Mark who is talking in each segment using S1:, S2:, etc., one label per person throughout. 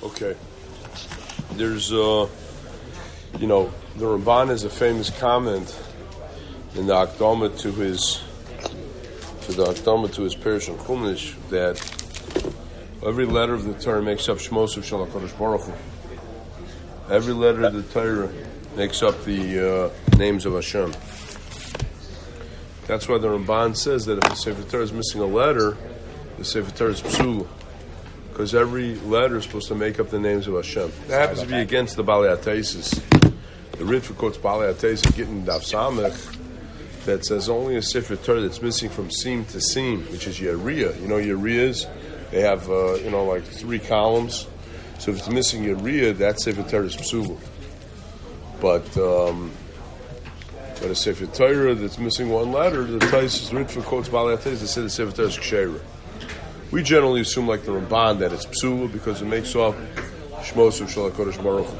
S1: Okay. There's, the Ramban has a famous comment in the Akdama to his Perush and Chumash that every letter of the Torah makes up Shmos of Shal HaKadosh Baruch Hu. Every letter of the Torah makes up the names of Hashem. That's why the Ramban says that if the Sefer Torah is missing a letter, the Sefer Torah is psul, because every letter is supposed to make up the names of Hashem. That happens to be against the Balei HaTeisus. The Ritva quotes Balei HaTeisus getting Daf Samech that says only a Sefer Torah that's missing from seam to seam, which is Yeriyah. You know Yeriyahs? They have, like 3 columns. So if it's missing Yeriyah, that Sefer Torah is psul. But a Sefer Torah that's missing one letter, the Taisus Ritva quotes Balei HaTeisus that says the Sefer Torah is Ksheira. We generally assume, like the Ramban, that it's psul because it makes off Shmos of Shal HaKadosh Baruch Hu.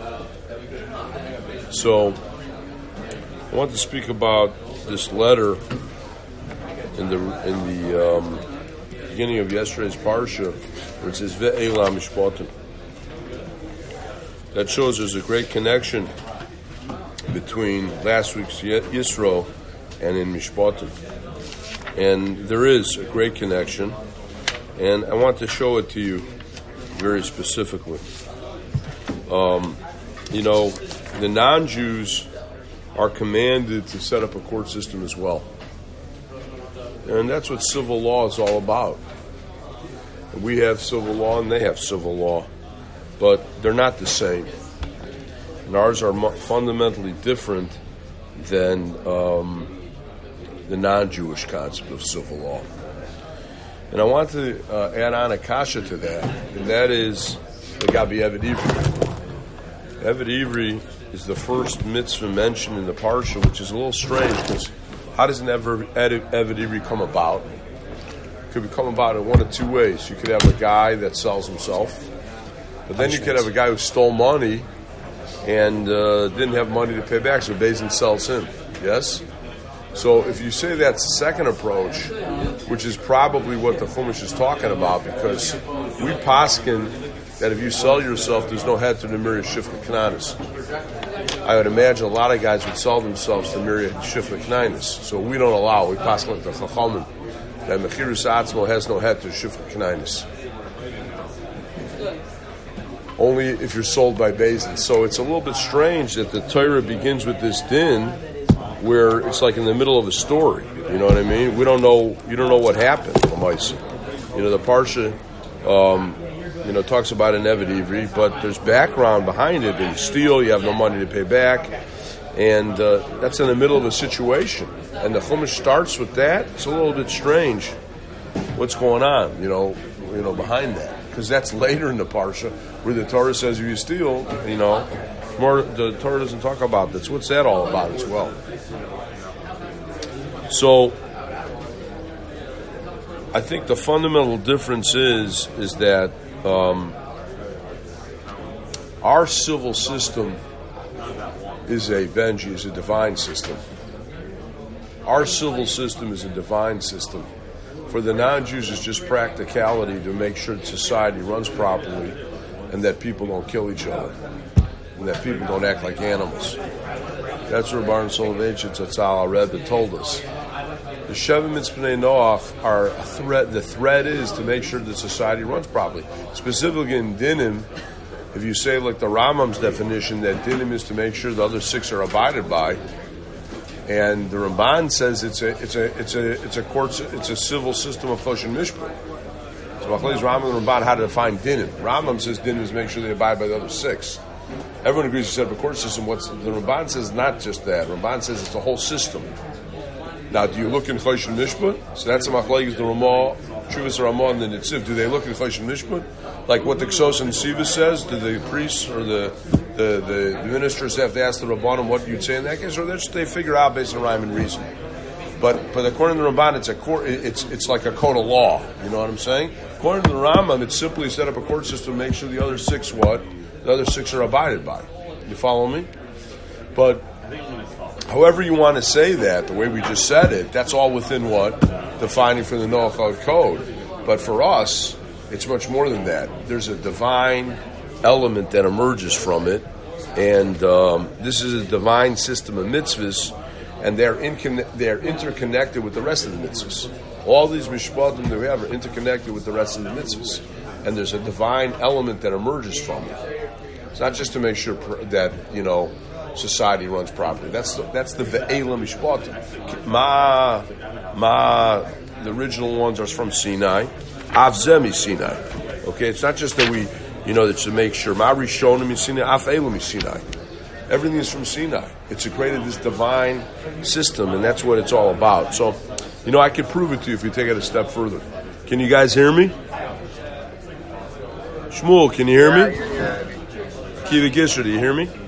S1: So, I want to speak about this letter in the beginning of yesterday's parsha, where it says Ve'ela Mishpatim. That shows there's a great connection between last week's Yisro and in Mishpatim. And there is a great connection. And I want to show it to you very specifically. The non-Jews are commanded to set up a court system as well. And that's what civil law is all about. We have civil law and they have civil law. But they're not the same. And ours are fundamentally different than the non-Jewish concept of civil law. And I want to add on a kasha to that, and that is the Gabi Eved Ivri. Eved Ivri is the first mitzvah mentioned in the parsha, which is a little strange, because how does an Eved Ivri come about? It could come about in one of 2 ways. You could have a guy that sells himself, but then you could have a guy who stole money and didn't have money to pay back, so Beis sells him. Yes? So if you say that's the second approach, which is probably what the Chumash is talking about, because we paskin that if you sell yourself, there's no head to the Miriam Shifra Knanis. I would imagine a lot of guys would sell themselves to Miriam Shifra Knanis. So we don't allow. We paskin like the Chachamim that Mechirus Atzmo has no head to Shifra Knanis. Only if you're sold by Beis. So it's a little bit strange that the Torah begins with this din, where it's like in the middle of a story. You know what I mean? You don't know what happened. The parsha, talks about an Eved Ivri, but there's background behind it. You steal, you have no money to pay back, and that's in the middle of a situation. And the Chumash starts with that. It's a little bit strange. What's going on? Behind that, because that's later in the parsha where the Torah says if you steal, more the Torah doesn't talk about this. What's that all about as well? So, I think the fundamental difference is that our civil system is a divine system. Our civil system is a divine system. For the non-Jews, it's just practicality to make sure that society runs properly and that people don't kill each other and that people don't act like animals. That's what Rabban Soloveitch Zatzal Rebbe told us. The Sheva Mitzvah Noach are a threat. The threat is to make sure that society runs properly. Specifically in Dinim, if you say like the Rambam's definition that Dinim is to make sure the other 6 are abided by, and the Ramban says it's a civil system of Choshen Mishpat. So Machlokes Rambam and Ramban how to define Dinim. Rambam says Dinim is make sure they abide by the other 6. Everyone agrees to set up a court system. The Ramban says not just that. Ramban says it's a whole system. Now, do you look in Choshen Mishpat? So that's the Machlokes, the Ramah, Chuvas Ramah, and the Nitziv. Do they look in Choshen Mishpat? Like what the Ksos and Siva says? Do the priests or the ministers have to ask the Rabbanim what you'd say in that case? Or they figure out based on rhyme and reason? But according to the Ramban, it's like a code of law. You know what I'm saying? According to the Rambam, it's simply set up a court system to make sure the other 6 what? The other 6 are abided by. You follow me? But however you want to say that, the way we just said it, that's all within what? Defining for the Noach code. But for us, it's much more than that. There's a divine element that emerges from it, and this is a divine system of mitzvahs, and they're interconnected with the rest of the mitzvahs. All these mishpatim that we have are interconnected with the rest of the mitzvahs, and there's a divine element that emerges from it. It's not just to make sure that society runs properly. That's the ve'ela mishpatim. The original ones are from Sinai. Avzemi Sinai. Okay, it's not just that we, that to make sure. Ma rishonim Sinai, af elam Sinai. Everything is from Sinai. It's created this divine system, and that's what it's all about. So, I could prove it to you if you take it a step further. Can you guys hear me? Shmuel, can you hear me? Kiva Gisher, do you hear me?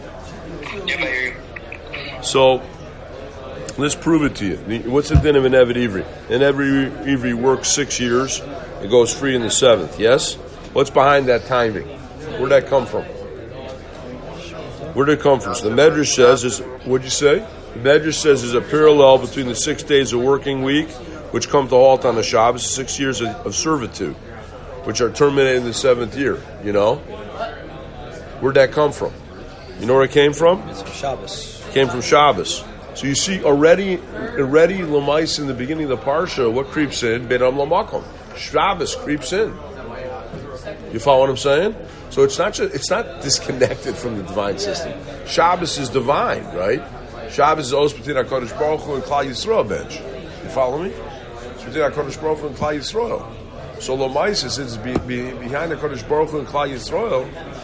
S1: So, let's prove it to you. What's the din of an Eved Ivri? An Eved Ivri works 6 years. It goes free in the 7th, yes? What's behind that timing? Where'd that come from? Where did it come from? So the Medrash says, what'd you say? The Medrash says there's a parallel between the 6 days of working week, which come to halt on the Shabbos, 6 years of servitude, which are terminated in the 7th year, Where'd that come from? You know where it came from?
S2: It's from Shabbos.
S1: It came from Shabbos. So you see already Lamais in the beginning of the Parsha, what creeps in? Benam Lamakom. Shabbos creeps in. You follow what I'm saying? So it's not disconnected from the divine system. Shabbos is divine, right? Shabbos is always between HaKadosh Baruch Hu and Klal Yisrael bench. You follow me? It's between HaKadosh Baruch Hu and Klal Yisrael. So Lamais, since it's behind HaKadosh Baruch Hu and Klal Yisrael,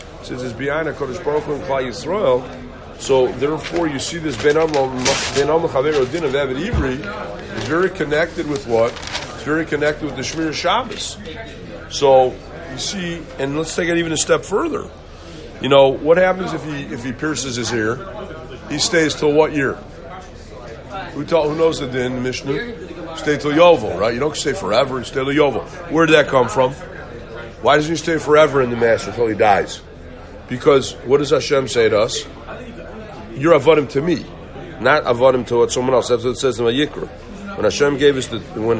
S1: so therefore you see this Ben Am L'Chavero Din of Eved Ivri is very connected with what? It's very connected with the Shmir Shabbos. So you see, and let's take it even a step further. What happens if he pierces his ear? He stays till what year? Who knows the din, the Mishnah? Stay till Yovel, right? You don't stay forever, you stay till Yovel. Where did that come from? Why doesn't he stay forever in the Master until he dies? Because what does Hashem say to us? You're avodim to me, not avodim to what someone else. That's what it says in Vayikra. When Hashem gave us when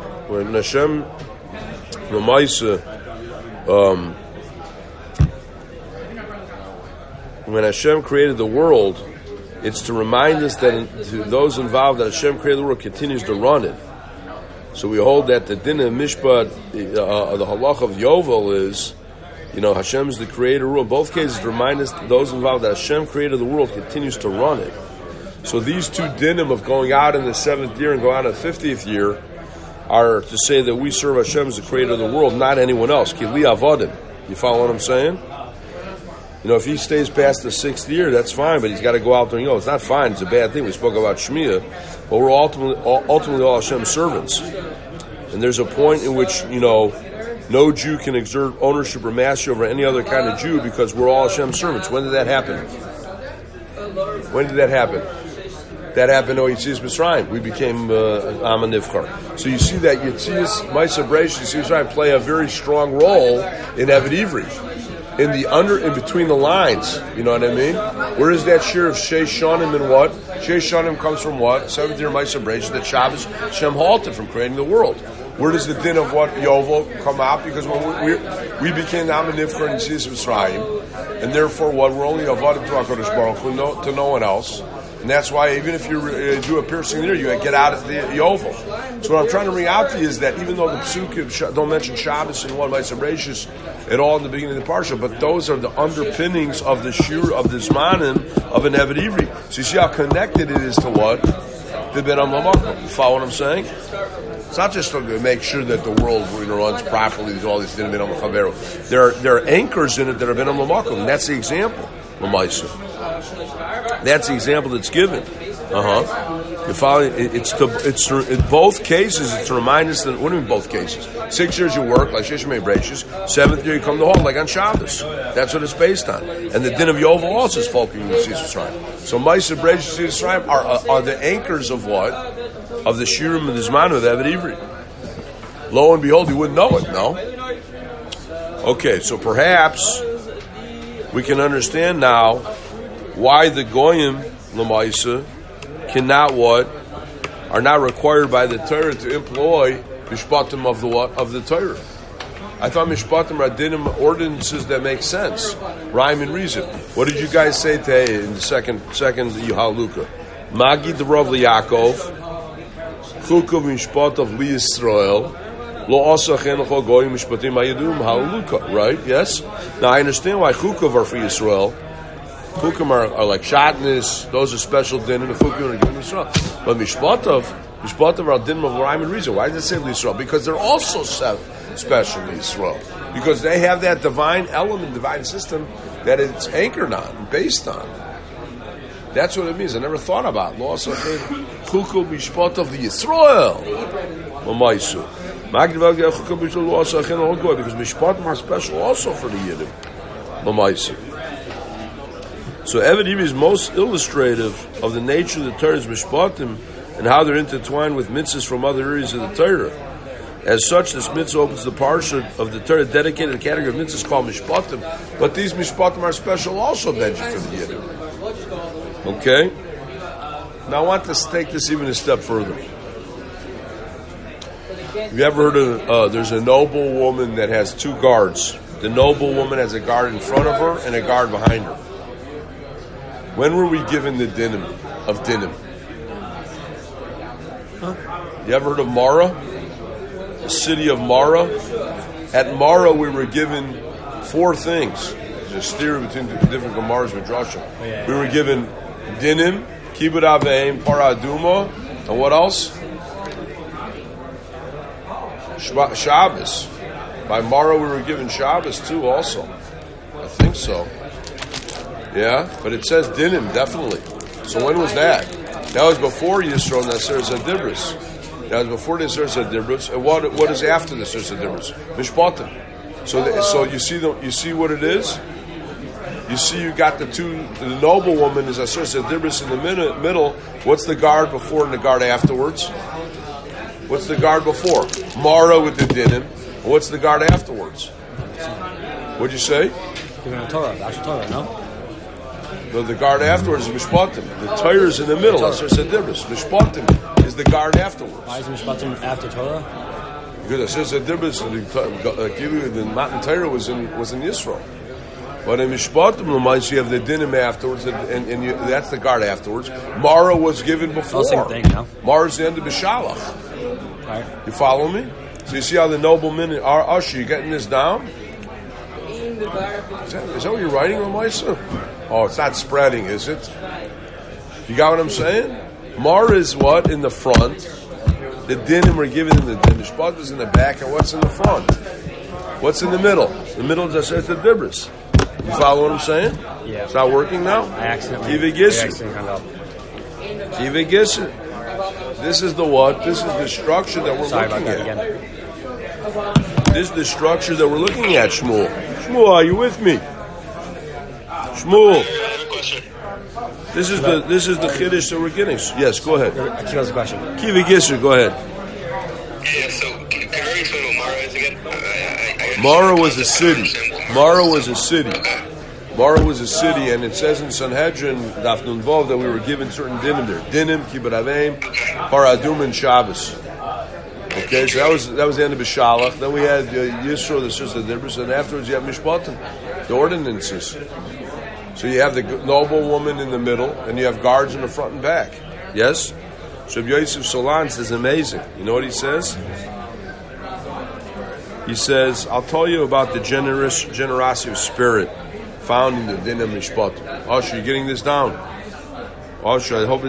S1: Hashem created the world, it's to remind us that to those involved that Hashem created the world continues to run it. So we hold that the din of Mishpat, the halach of Yovel is, Hashem is the creator rule. In both cases, to remind us, those involved, that Hashem created the world continues to run it. So these two dinim of going out in the 7th year and going out in the 50th year are to say that we serve Hashem as the creator of the world, not anyone else. Ki li avodim. You follow what I'm saying? If he stays past the 6th year, that's fine, but he's got to go out there and it's not fine, it's a bad thing. We spoke about Shmiya, but we're ultimately all Hashem's servants. And there's a point in which, no Jew can exert ownership or mastery over any other kind of Jew because we're all Hashem's servants. When did that happen? That happened in Yetzias Mitzrayim. We became Am HaNivchar. So you see that Yetzias, Ma'aseh Bereishis, Yetzias Mitzrayim play a very strong role in Eved Ivri. In between the lines, you know what I mean? Where is that share of Shei Shanim and what? Shei Shanim comes from what? 7th year Ma'aseh Bereishis, that Shabbos, Hashem halted from creating the world. Where does the din of what Yovel come out? Because when we became Am HaNivchar in Yetzias Mitzrayim, and therefore what? We're only avodim to HaKadosh Baruch Hu, to no one else. And that's why even if you do a piercing there, you get out of the Yovel. So what I'm trying to bring out to you is that even though the Psukim don't mention Shabbos and one Ma'aseh Bereishis at all in the beginning of the Parsha, but those are the underpinnings of the Shur, of the Zmanim, of an Eved Ivri. So you see how connected it is to what? The Ben Am L'Makom. You follow what I'm saying? It's not just to make sure that the world runs properly. There's all these things Ben Am L'Chavero. There are anchors in it that are Ben Am L'Makom, and that's the example. L'Maisa. That's the example that's given. You follow? It's in both cases. It's to remind us that. What do you mean both cases? 6 years you work like Shei Shemei Bereishis. 7th year you come to halt like on Shabbos. That's what it's based on. And the din of Yovel also is focusing on the Yetzias Mitzrayim. So Ma'aseh Bereishis and Yetzias Mitzrayim are the anchors of what? Of the Shirim and the Zman of Eved Ivri. Lo and behold, you wouldn't know it, no? Okay, so perhaps we can understand now why the Goyim L'Maisa cannot are not required by the Torah to employ Mishpatim of the what? Of the Torah. I thought mishpatim are dinim ordinances that make sense, rhyme and reason. What did you guys say today in the second Haluka? Magi the Rav Yaakov, chukav mishpatav li Yisrael, lo asa chenacho goyim mishpatim hayadum Haluka. Right? Yes. Now I understand why chukav are for Yisrael. Chukim are like shatnez; those are special dinim. The chukim are given to Yisrael, but mishpatav are dinim of rhyme and reason. Why does it say li Yisrael? Because they're also special to Yisrael, because they have that divine element, divine system that it's anchored on, and based on. That's what it means. I never thought about law. So chukum mishpat of the Yisrael, mamaisu. Because mishpatim are special also for the Yidden, mamaisu. So Evadim is most illustrative of the nature of the Torah's mishpatim and how they're intertwined with mitzvahs from other areas of the Torah. As such, this mitzvah opens the parsha of the Torah dedicated to the category of mitzvahs called mishpatim. But these mishpatim are special also, Benji, for the Yidden. Okay? Now I want to take this even a step further. Have you ever heard of, there's a noble woman that has two guards. The noble woman has a guard in front of her and a guard behind her. When were we given the dinim of dinim? Huh? You ever heard of Mara? The city of Mara? At Mara we were given four things. There's a theory between the different Gemaras with Drashim. We were given dinim, kibbud aveim, para aduma, and what else? Shabbos. By Mara we were given Shabbos too also. I think so. Yeah, but it says dinim, definitely. So when was that? That was before Yisro Nasser Zadibris. That was before the Nasser Zadibris. And what is after the Nasser Zadibris? Mishpatim. So you see what it is? You see you got the noble woman is Nasser Zadibris in the middle. What's the guard before and the guard afterwards? What's the guard before? Mara with the dinim. What's the guard afterwards? What'd you say?
S2: Torah, the actual Torah, no?
S1: No, the guard afterwards is Mishpatim. The Torah is in the middle. That's Sedibris. Mishpatim is the guard afterwards.
S2: Why is Mishpatim after Torah?
S1: Because Sedibris, the Matan Torah was in Yisrael. But in Mishpatim, you have the dinim afterwards, and that's the guard afterwards. Mara was given before.
S2: Same thing, no?
S1: Mara's the end of Bishalach.
S2: Right.
S1: You follow me? So you see how the noblemen are usher. You getting this down? Is that what you're writing, Lamaisa? Oh, it's not spreading, is it? You got what I'm saying? Mara is what? In the front. The dinim are given in the mishpat is in the back, and what's in the front? What's in the middle? The middle just says the dibris. You follow what I'm saying?
S2: Yeah.
S1: It's not working now?
S2: I accidentally hung up.
S1: Kiva Gisser. This is the what? This is the structure that we're looking at.
S2: Again.
S1: This is the structure that we're looking at, Shmuel. Shmuel, are you with me? Shmuel. This is the chiddush that we're getting. Yes, go ahead.
S2: Kiva's question.
S1: Kiva Gisser, go ahead.
S3: Yeah, so can I explain what Mara is again?
S1: Mara was a city. Mara was a city. Mara was a city, and it says in Sanhedrin, Daf Nun Vav, that we were given certain dinim there. Dinim, kibbud aveim, paradum, and Shabbos. Okay, so that was the end of Bishalach. Then we had Yisro, the sister Dibris, and afterwards you have Mishpatim, the ordinances. So you have the noble woman in the middle, and you have guards in the front and back. Yes? So Yosef Solan says amazing. You know what he says? He says, I'll tell you about the generosity of spirit found in the Din of Mishpat. Osher, you getting this down? Osher, I hope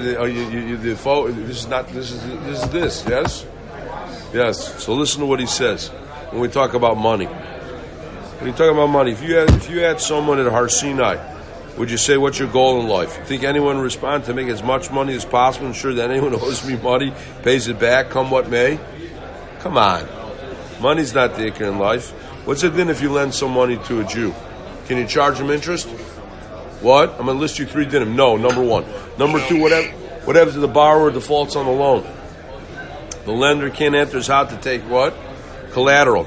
S1: this is this, yes? Yes. So listen to what he says when we talk about money. When you talk about money, if you had someone at Har Sinai, would you say, what's your goal in life? You think anyone would respond to make as much money as possible, ensure that anyone who owes me money pays it back, come what may? Come on. Money's not the ikar in life. What's it then if you lend some money to a Jew? Can you charge him interest? What? I'm going to list you 3 dinim. No, number 1. Number 2, whatever the borrower defaults on the loan. The lender can't enter his house to take what? Collateral.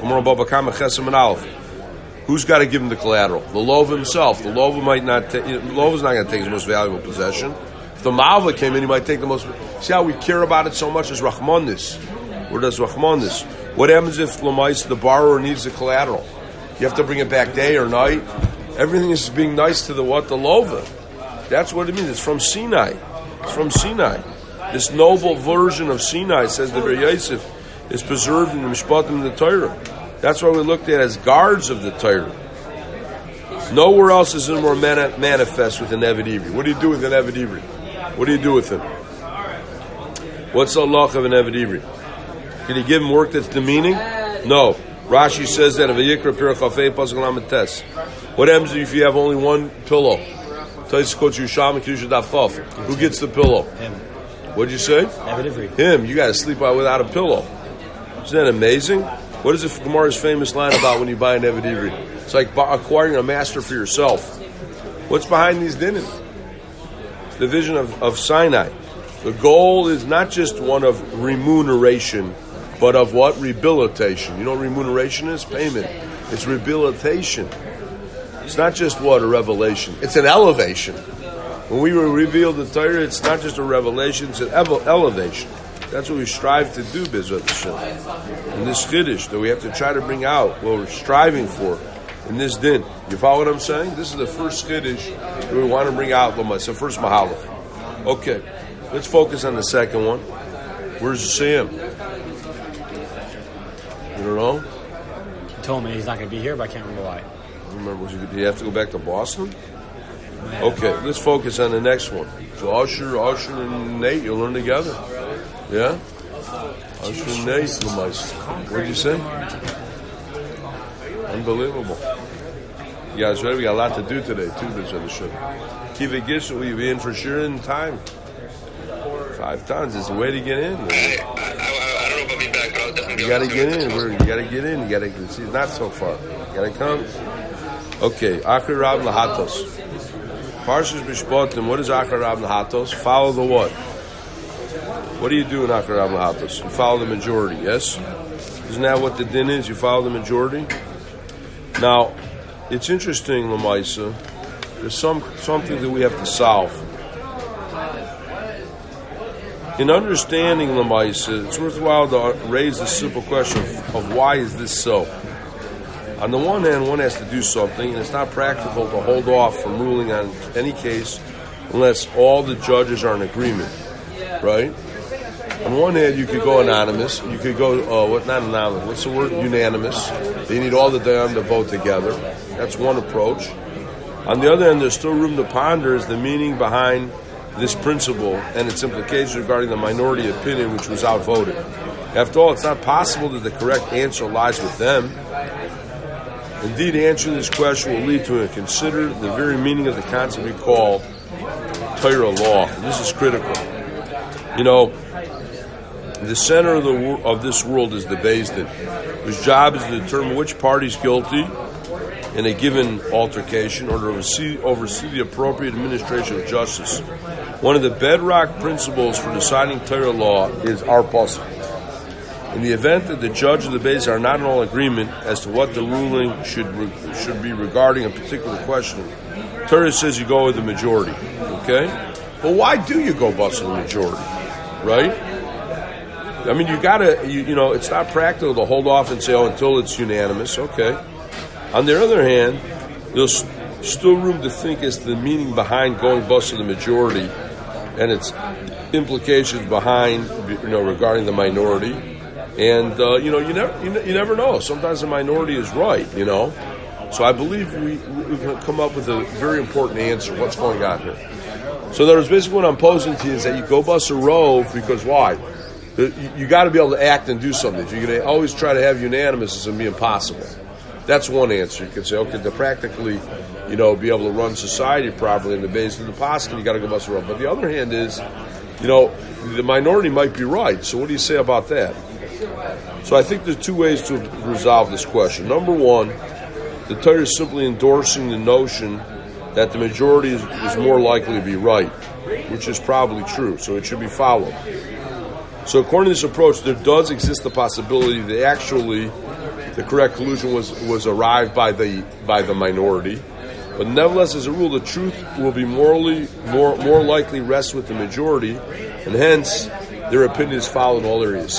S1: Who's got to give him the collateral? The lov himself. The lov might not. Lov is not going to take his most valuable possession. If the malva came in, he might take the most. See how we care about it so much as rachmanis. Where does rachmanis? What happens if Lamais, the borrower, needs the collateral? You have to bring it back day or night. Everything is being nice to the what? The Lova. That's what it means. It's from Sinai. It's from Sinai. This noble version of Sinai, says the Ber Yosef, is preserved in the Mishpatim and the Torah. That's why we looked at as guards of the Torah. Nowhere else is it more manifest with an Eved Ivri. What do you do with an Eved Ivri? What do you do with him? What's the halach of an Eved Ivri? Can you give him work that's demeaning? No. Rashi says that of a Yikra Pirach Chafei Pasuk Lamed Tes. What happens if you have only one pillow? Tais Koch Yusham Kedusha Daf Chaf. Who gets the pillow?
S2: Him.
S1: What'd you say?
S2: Eved Ivri.
S1: Him. You got to sleep out without a pillow. Isn't that amazing? What is the Gemara's famous line about when you buy an Eved Ivri? It's like acquiring a master for yourself. What's behind these dinim? The vision of Sinai. The goal is not just one of remuneration, but of what? Rehabilitation. You know what remuneration is? Payment. It's rehabilitation. It's not just what? A revelation. It's an elevation. When we reveal the Torah, it's not just a revelation, it's an elevation. That's what we strive to do, Bezrat Hashem. In this Chiddush that we have to try to bring out what we're striving for in this din. You follow what I'm saying? This is the first Chiddush that we want to bring out. It's the first Mahalach. Okay, let's focus on the second one. Where's Sam? You don't know?
S2: He told me he's not going to be here, but I can't remember why.
S1: Remember, do you have to go back to Boston? Okay, let's focus on the next one. So Usher and Nate, you'll learn together. Yeah? Usher and Nate, what did you say? Unbelievable. You guys ready? We got a lot to do today, too, this on the show. Kiva Gish, will you be in for sure in time? 5 tons is the way to get in.
S3: I don't know if I'll be back, but I'll definitely
S1: You got to get in. You got to get in. You got to see. It's not so far. You got to come. Okay, Akri Rab Lahatos. Parshas Mishpatim. What is Akri Rab Lahatos? Follow the what? What do you do in Akri Rab Lahatos? You follow the majority. Yes. Isn't that what the din is? You follow the majority. Now, it's interesting, Lamaisa. There's something that we have to solve. In understanding Lamaisa, it's worthwhile to raise the simple question of why is this so? On the one hand, one has to do something, and it's not practical to hold off from ruling on any case unless all the judges are in agreement, right? On one hand, you could go anonymous. You could go, not anonymous, what's the word? Unanimous. You need all the Dayan to vote together. That's one approach. On the other hand, there's still room to ponder is the meaning behind this principle and its implications regarding the minority opinion which was outvoted. After all, it's not possible that the correct answer lies with them. Indeed, answering this question will lead to consider the very meaning of the concept we call Torah law. And this is critical. You know, the center of this world is the Beis Din, whose job is to determine which party is guilty in a given altercation or to oversee the appropriate administration of justice. One of the bedrock principles for deciding Torah law is our pasuk. In the event that the judge and the Beis are not in all agreement as to what the ruling should be regarding a particular question, Torah says you go with the majority. Okay? But why do you go bust with the majority? Right? I mean, you gotta, it's not practical to hold off and say, until it's unanimous. Okay. On the other hand, there's still room to think as to the meaning behind going bust with the majority and its implications behind, regarding the minority. And, you never know. Sometimes the minority is right, So I believe we've come up with a very important answer. What's going on here? So there's basically what I'm posing to you is that you go bust a rove because why? You got to be able to act and do something. If you're going to always try to have unanimous, it's going to be impossible. That's one answer. You could say, okay, to practically, be able to run society properly in the base of the posture, you got to go bust a rove. But the other hand is, the minority might be right. So what do you say about that? So I think there's 2 ways to resolve this question. Number one, the Torah is simply endorsing the notion that the majority is more likely to be right, which is probably true, so it should be followed. So according to this approach, there does exist the possibility that actually the correct conclusion was arrived by the minority, but nevertheless, as a rule, the truth will be more likely rest with the majority, and hence their opinion is followed in all areas. So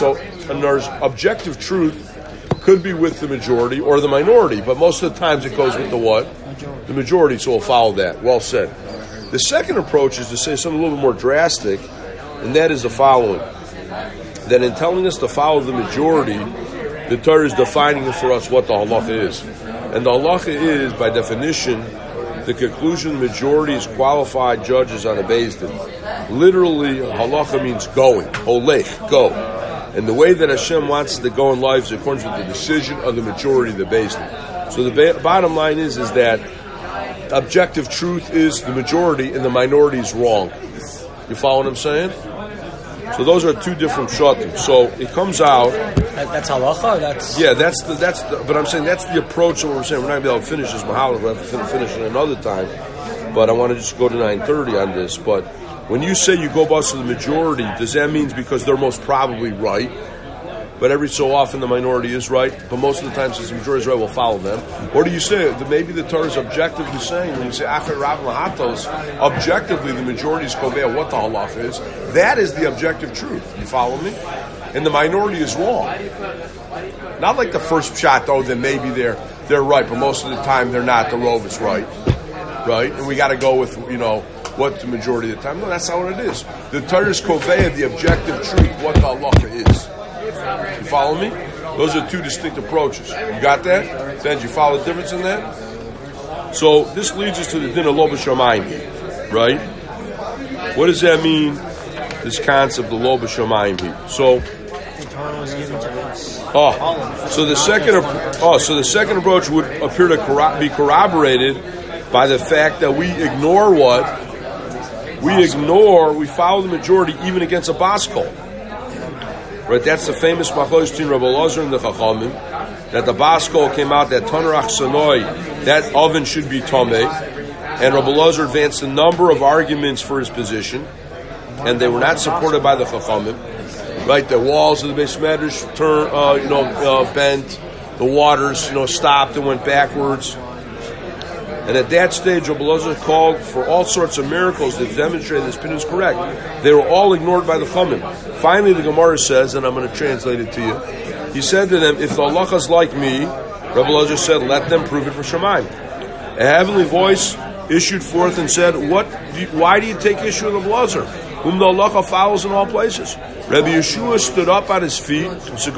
S1: there's objective truth could be with the majority or the minority, but most of the times it goes with the what? The majority, so we'll follow that. Well said. The second approach is to say something a little bit more drastic, and that is the following. That in telling us to follow the majority, the Torah is defining for us what the halacha is. And the halacha is, by definition, the conclusion the majority is qualified judges on a Beis Din. Literally, halacha means going. Olech, go. And the way that Hashem wants us to go in life is according to the decision of the majority of the Beis Din. So the bottom line is that objective truth is the majority and the minority is wrong. You follow what I'm saying? So those are two different shatim. So it comes out.
S2: That's halacha.
S1: That's but I'm saying that's the approach of what we're saying. We're not going to be able to finish this mahalach. We'll have to finish it another time. But I want to just go to 9:30 on this. But when you say you go bust to the majority, does that mean because they're most probably right? But every so often the minority is right, but most of the time since the majority is right, we'll follow them. Or do you say that maybe the Torah is objectively saying, when you say Acher Rav Lahatos, objectively the majority is kovea what the halach is, that is the objective truth. You follow me? And the minority is wrong. Not like the first shot, though, that maybe they're right, but most of the time they're not. The Rove is right. Right? And we got to go with, what the majority of the time. No, that's not what it is. The Torah is kovea, the objective truth, what the halacha is. You follow me? Those are two distinct approaches. You got that? Then you follow the difference in that? So this leads us to the din of lo b'shamayim, right? What does that mean? This concept of lo b'shamayim. So the second approach would appear to be corroborated by the fact that we ignore what? We follow the majority even against a baskol. Right, that's the famous machlokes between Rabbi Elazar and the Chachamim, that the baskol came out that Tanarach Sanoi, that oven should be Tomei, and Rabbi Elazar advanced a number of arguments for his position, and they were not supported by the Chachamim. Right, the walls of the Beis Medrash bent, the waters, stopped and went backwards. And at that stage, Rabbi Elazar called for all sorts of miracles that demonstrated this opinion is correct. They were all ignored by the Chachamim. Finally, the Gemara says, and I'm going to translate it to you. He said to them, if the halacha is like me, Rabbi Elazar said, let them prove it for Shamayim. A heavenly voice issued forth and said, why do you take issue with Rabbi Elazar, whom the halacha follows in all places? Rabbi Yeshua stood up on his feet, and said,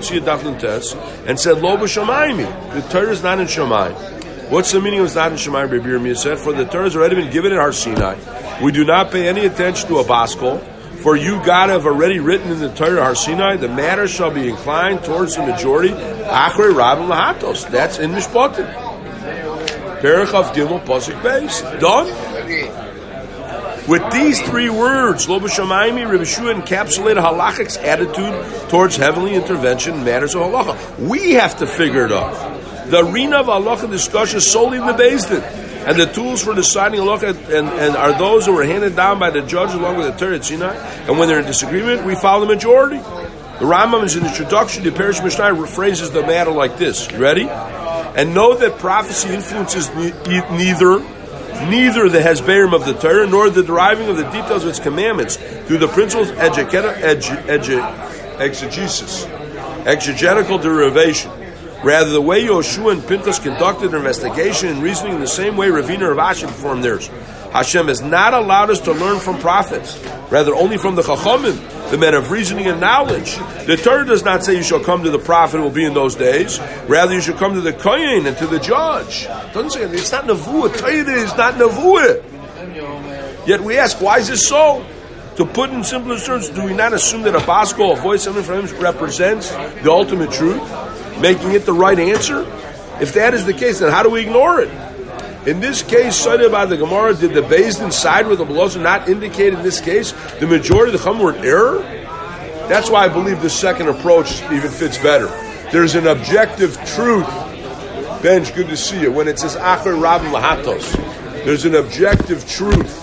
S1: lo b'shamayim. The Torah is not in Shamayim. What's the meaning of it's not in Shemayim? Rabbi Yirmiyah said, for the Torah has already been given in Har Sinai. We do not pay any attention to a baskol, for you, God, have already written in the Torah Har Sinai, the matter shall be inclined towards the majority. Achrei Rav Lahatos. That's in Mishpatim. Perich of Gimel Pasuk Beis. Done. With these three words, Lo b'shamayim, Rabbi Yeshua encapsulated halachic's attitude towards heavenly intervention in matters of halacha. We have to figure it out. The arena of halacha discussion is solely in the Beis Din, and the tools for deciding halacha and are those that were handed down by the judge along with the Torah at Sinai. And when they're in disagreement, we follow the majority. The Rambam, in introduction to Perish Mishnah, phrases the matter like this. You ready? And know that prophecy influences neither the hesberim of the Torah nor the deriving of the details of its commandments through the principles of exegetical derivation. Rather, the way Yoshua and Pinchas conducted their investigation and reasoning in the same way Ravina and Rav Ashi performed theirs. Hashem has not allowed us to learn from prophets, rather only from the Chachamim, the men of reasoning and knowledge. The Torah does not say you shall come to the prophet who will be in those days. Rather, you should come to the Kohen and to the judge. It doesn't say it's not Nevuah. Torah is not Nevuah. Yet we ask, why is this so? To put in simplest terms, do we not assume that a baskol, a voice coming from him, represents the ultimate truth, making it the right answer? If that is the case, then how do we ignore it? In this case, cited by the Gemara, did the Beis Din side with the Belozah not indicate in this case the majority of the Chachamim were in error? That's why I believe the second approach even fits better. There's an objective truth. Benj, good to see you. When it says Acher Rav Lahatos, there's an objective truth.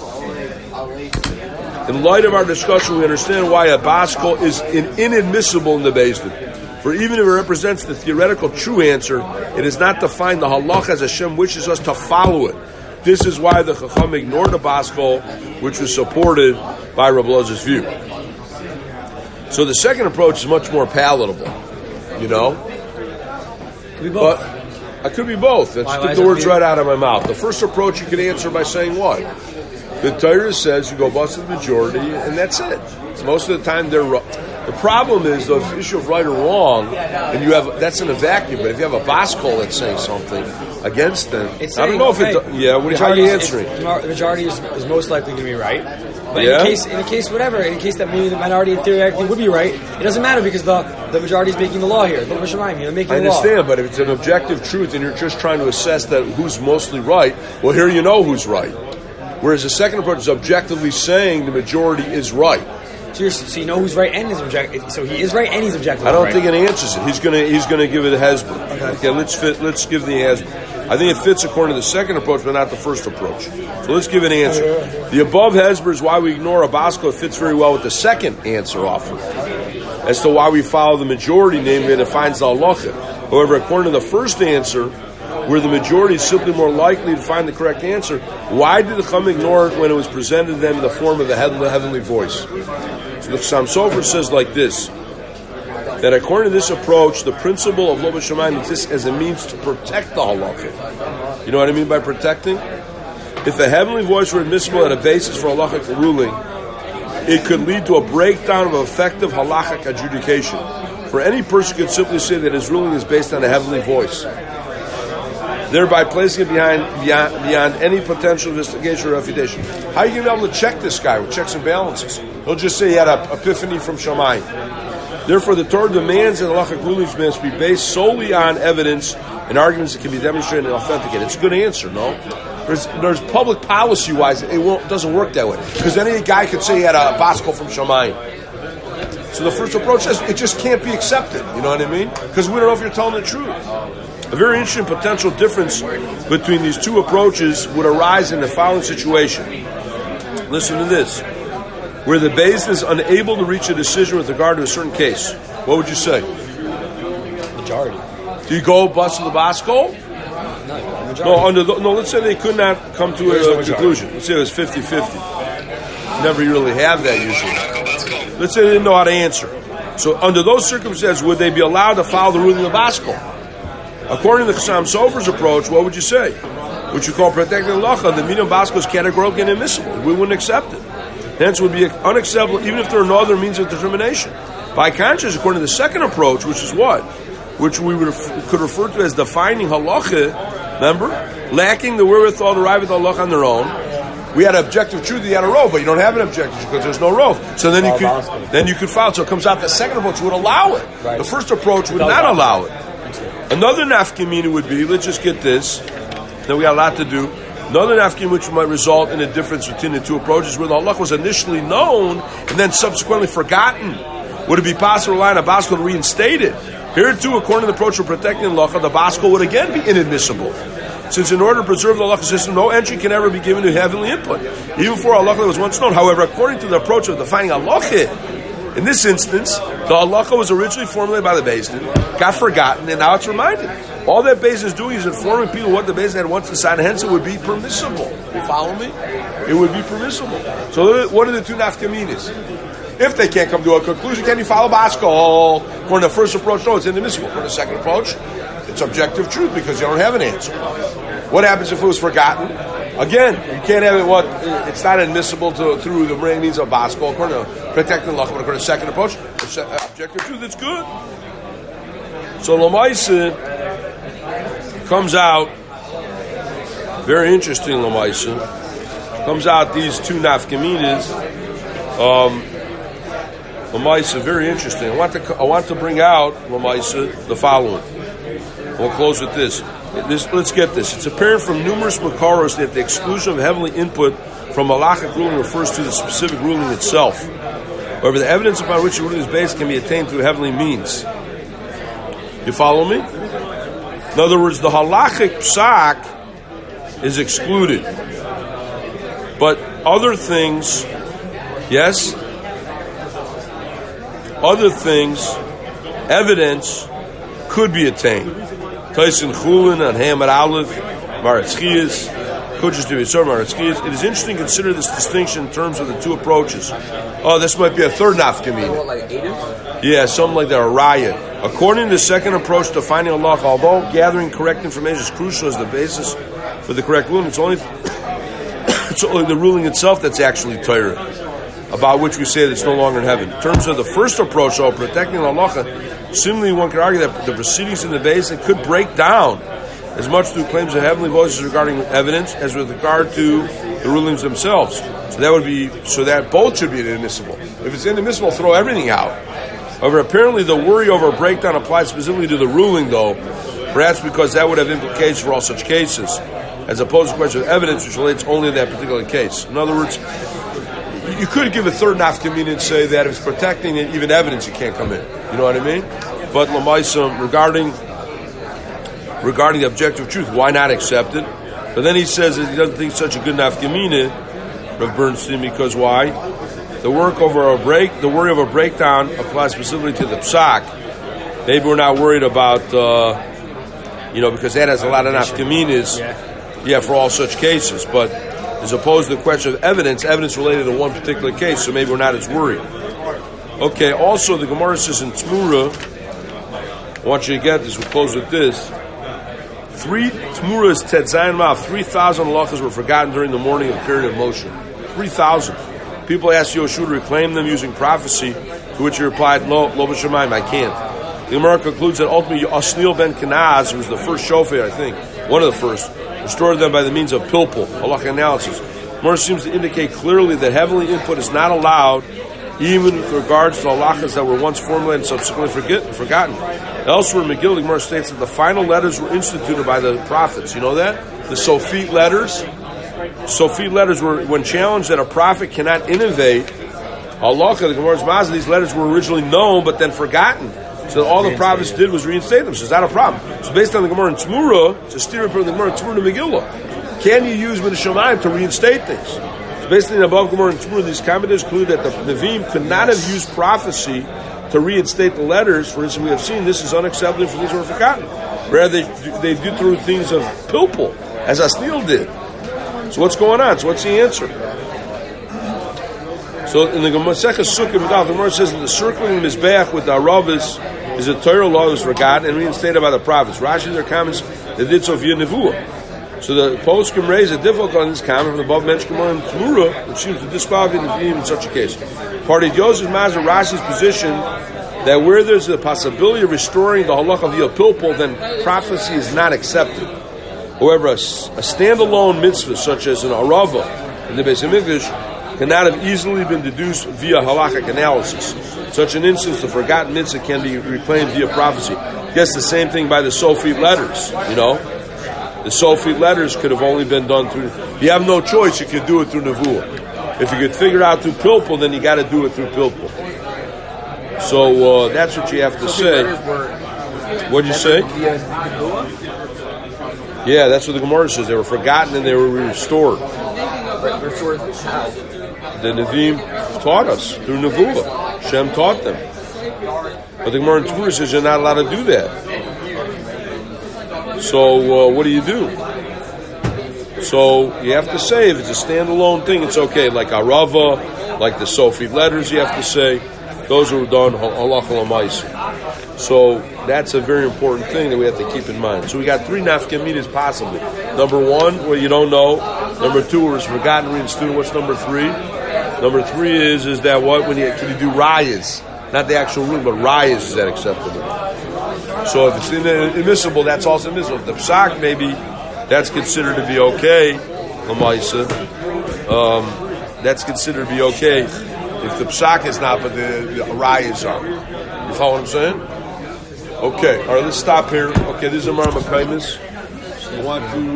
S1: In light of our discussion, we understand why a baskol is inadmissible in the Beis Din. For even if it represents the theoretical true answer, it is not defined the halach as Hashem wishes us to follow it. This is why the Chacham ignored the baskol, which was supported by Rabbi Elazar's view. So the second approach is much more palatable, you know?
S2: Could be both.
S1: But I could be both. Let's
S2: Why
S1: get
S2: is
S1: the
S2: it
S1: words
S2: be-
S1: right out of my mouth. The first approach you can answer by saying what? The Torah says you go bust the majority, and that's it. So most of the time they're wrong. The problem is the issue of right or wrong, and you have that's in a vacuum. But if you have a Baskol that's saying something against them,
S2: It's
S1: I don't know if
S2: okay,
S1: it. Yeah, how are you answering?
S2: The majority is most likely to be right. But
S1: Yeah?
S2: in a case, that maybe the minority in theory actually would be right, it doesn't matter because the majority is making the law here. They're making
S1: I
S2: the law.
S1: understand, but if it's an objective truth and you're just trying to assess that who's mostly right, well, here you know who's right. Whereas the second approach is objectively saying the majority is right.
S2: So you know who's right and is objective. So he is right and he's objective.
S1: I don't
S2: right.
S1: think it answers it. He's gonna give it a Hezbollah. Okay, let's give the Hezbollah. I think it fits according to the second approach, but not the first approach. So let's give an answer. The above Hezbollah is why we ignore a Baskol. It fits very well with the second answer offered as to why we follow the majority, namely, and it finds the halacha. However, according to the first answer, where the majority is simply more likely to find the correct answer, why did the Chum ignore it when it was presented to them in the form of the heavenly voice? So the Chassam Sofer says like this, that according to this approach, the principle of Lo B'Shamayim exists as a means to protect the halacha. You know what I mean by protecting? If the heavenly voice were admissible at a basis for halachic ruling, it could lead to a breakdown of effective halachic adjudication. For any person could simply say that his ruling is based on a heavenly voice, thereby placing it beyond any potential investigation or refutation. How are you going to be able to check this guy with checks and balances? He'll just say he had an epiphany from Shammai. Therefore, the Torah demands that halachic rulings must be based solely on evidence and arguments that can be demonstrated and authenticated. It's a good answer, no? There's public policy-wise, it doesn't work that way. Because any guy could say he had a Baskol from Shammai. So the first approach says it just can't be accepted. You know what I mean? Because we don't know if you're telling the truth. A very interesting potential difference between these two approaches would arise in the following situation. Listen to this. Where the Beis Din is unable to reach a decision with regard to a certain case. What would you say?
S2: Majority.
S1: Do you go bust the Baskol? No, let's say they could not come to a conclusion. Let's say it was 50-50. Never really have that usually. Let's say they didn't know how to answer. So under those circumstances, would they be allowed to follow the ruling of Baskol? According to the Chassam Sofer's approach, what would you say? Would you call protecting the halacha? The meaning of Baskol is categorically inadmissible. We wouldn't accept it. Hence, it would be unacceptable even if there are no other means of determination. By contrast, according to the second approach, which is what? Which we could refer to as defining halacha, remember? Lacking the wherewithal to arrive at the halacha on their own. We had objective truth, you had a rov, but you don't have an objective truth because there's no rov. So then you could follow. So it comes out the second approach would allow it. Right. The first approach would not allow it. Another nafkamina would be, let's just get this, then we got a lot to do. Another nafkamina which might result in a difference between the two approaches where the halacha was initially known and then subsequently forgotten. Would it be possible to rely on a Baskol to reinstate it? Here too, according to the approach of protecting the halacha, the Baskol would again be inadmissible. Since in order to preserve the halacha system, no entry can ever be given to heavenly input, even for a halacha that was once known. However, according to the approach of defining halacha, in this instance, the halacha was originally formulated by the Beis Din, got forgotten, and now it's reminded. All that Beis Din is doing is informing people what the Beis Din had once decided, hence it would be permissible. You follow me? It would be permissible. So what are the two nafkaminas? If they can't come to a conclusion, can you follow Baskol? According to the first approach, no, it's inadmissible. According to the second approach, it's objective truth because you don't have an answer. What happens if it was forgotten? Again, you can't have it. It's not admissible through the means of Baskol. According to protecting the halacha, but according to the second approach, it's objective truth. It's good. So Lamaisa comes out very interesting. Lamaisa comes out these two nafkaminas. Lamaisa, very interesting. I want to bring out Lamaisa the following. We'll close with this. Let's get this. It's apparent from numerous makaros that the exclusion of heavenly input from halachic ruling refers to the specific ruling itself. However, the evidence upon which the ruling is based can be attained through heavenly means. You follow me? In other words, the halachic psak is excluded. But other things, yes? Other things, evidence, could be attained. Tyson Chulin and Hamad Aleph, Maratz Chias, Could just do it. Sorry, Mark. It is interesting to consider this distinction in terms of the two approaches. Oh, this might be a third nafkamina. Yeah, something like that, a raya. According to the second approach to finding Allah, although gathering correct information is crucial as the basis for the correct ruling, it's only the ruling itself that's actually Torah, about which we say that it's no longer in heaven. In terms of the first approach, though, protecting Allah, similarly one could argue that the proceedings in the base could break down as much through claims of heavenly voices regarding evidence as with regard to the rulings themselves. So that both should be inadmissible. If it's inadmissible, throw everything out. However, apparently the worry over a breakdown applies specifically to the ruling, though, perhaps because that would have implications for all such cases, as opposed to a question of evidence which relates only to that particular case. In other words, you could give a third nafkamina and say that if it's protecting even evidence, it can't come in. You know what I mean? But Lamaisa, regarding the objective truth, why not accept it? But then he says that he doesn't think it's such a good nafkamina, Rav Bernstein, because why? The worry of a breakdown applies specifically to the psak. Maybe we're not worried about, because that has a lot of nafkaminas, for all such cases. But as opposed to the question of evidence related to one particular case, so maybe we're not as worried. Okay, also the Gemara says in Tmura, I want you to get this, we'll close with this. Tmura's Tetzayin Ma'af, 3,000 halachas were forgotten during the morning of the period of motion. 3,000. People asked Yoshua to reclaim them using prophecy, to which he replied, Lo b'shamayim, I can't. The Gemara concludes that ultimately Osniel ben Kenaz, who was the first shofar, I think, one of the first, restored them by the means of pilpul, halakha analysis. The Gemara seems to indicate clearly that heavenly input is not allowed, even with regards to halachas that were once formulated and subsequently forgotten. Elsewhere in Megillah, the Gemara states that the final letters were instituted by the prophets. You know that? The Sofit letters. Sofit letters were, when challenged that a prophet cannot innovate, halakha, the Gemara's mazah, these letters were originally known but then forgotten. So all the prophets did was reinstate them. So it's not a problem. So based on the Gemara in Tmura, it's a steer from the Gemara in Tmura to Megillah. Can you use Min Shamayim to reinstate things? So based on the above Gemara in Tmura, these commentators conclude that the Nevi'im could not have used prophecy to reinstate the letters. For instance, we have seen this is unacceptable for things that were forgotten. Rather, they do through things of pilpul, as Asniel did. So what's going on? So what's the answer? So in the Masechah Sukkah, the Gemara says that the circling Mizbeach with the Aravas is a Torah law that was forgotten and reinstated by the prophets. Rashi, their comments, they did so via Nevuah. So the poskim raise a difficult on this comment from the above mentioned Gemara in Tmura, which seems to disqualify the Nevi'im in such a case. Part of Yosef Mazar Rashi's position that where there's a possibility of restoring the halakha via pilpul, then prophecy is not accepted. However, a standalone mitzvah such as an arava in the Beis Hamikdash cannot have easily been deduced via halakhic analysis. In such an instance, the forgotten mitzvah can be reclaimed via prophecy. I guess the same thing by the Sofit letters, The Sofit letters could have only been done through... If you have no choice, you could do it through Nevuah. If you could figure it out through pilpul, then you got to do it through pilpul. So that's what you have to say. What'd you say? Yeah, that's what the Gemara says. They were forgotten and they were restored. The Nevi'im taught us through Nevuah. Shem taught them. But the Gemara in Tmura says you're not allowed to do that. So what do? So you have to say if it's a standalone thing, it's okay. Like Arava, like the Sofit letters, you have to say those are done halakha l'maisa. So that's a very important thing that we have to keep in mind. So we got 3 nafkaminas possibly. Number 1, where you don't know. Number 2, where it's forgotten reinstated. What's number 3? Number 3 is that what can you do rayas, not the actual rule, but rayas, is that acceptable? So if it's admissible, that's also admissible. If the psak, maybe that's considered to be okay. L'maisa, that's considered to be okay. If the psak is not, but the rayas are. You follow what I'm saying? Okay, all right, let's stop here. Okay, this is Amar Makaimis. You want to